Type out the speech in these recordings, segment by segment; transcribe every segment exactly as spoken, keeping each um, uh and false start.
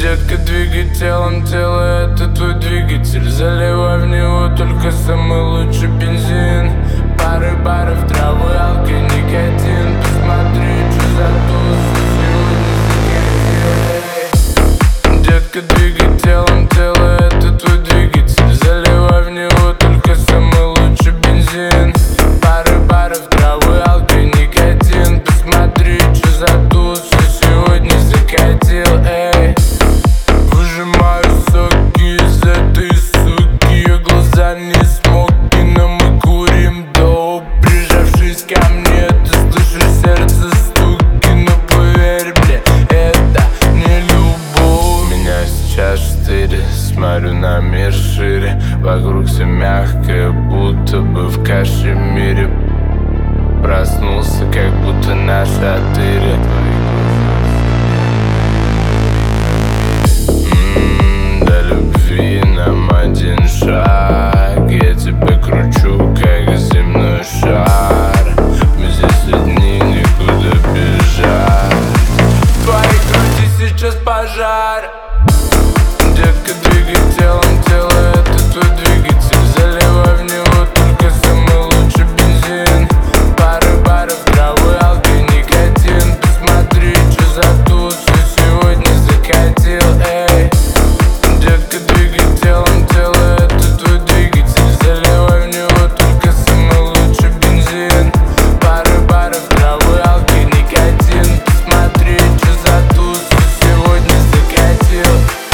Детка, двигай телом, тело — это твой двигатель. Заливай в него только самый лучший бензин. Пары баров, травы, алки, никотин. Посмотри, что за туз сегодня закатил. Детка, двигай телом, тело — это твой двигатель. Заливай в него только самый лучший бензин. Пары баров, травы, алки, никотин. Посмотри, что за туз сегодня закатил, эй. Выжимаю соки из этой суки, ее глаза не смоки, но мы курим доп. Прижавшись ко мне, ты слышишь сердце стуки, но поверь мне, это не любовь. Меня сейчас четыре, смотрю на мир шире. Вокруг все мягкое, будто бы в кашемире. Проснулся, как будто на шатыре. Нам один шаг, я тебя кручу, как земной шар. Мы здесь одни, никуда бежать. В твоей груди сейчас пожар. Детка, двигай телом, тело — это твой двигатель. Заливай в него только самый лучший бензин. Пары баров, травы, алки, никотин. Посмотри, что за туз сегодня закатил, эй. Детка, двигай телом, тело — это твой двигатель. Заливай в него только самый лучший бензин. Пары баров, травы, алки, никотин. Посмотри, что за туз сегодня закатил.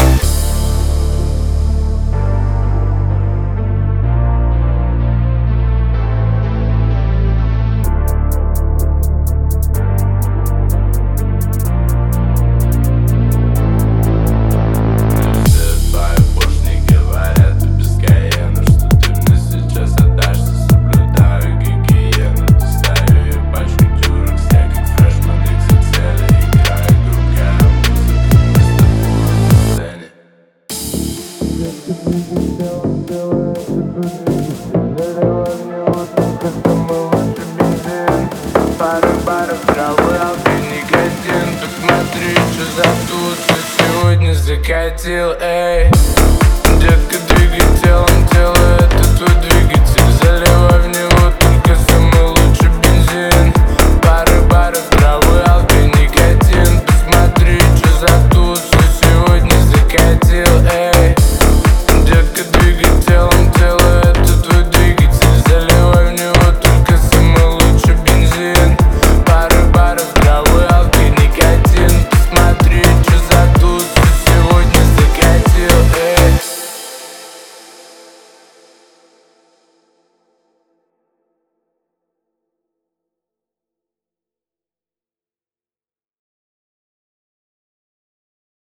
Пары баров, травы, алки, никотин. Посмотри, что за туз сегодня закатил, эй. Детка,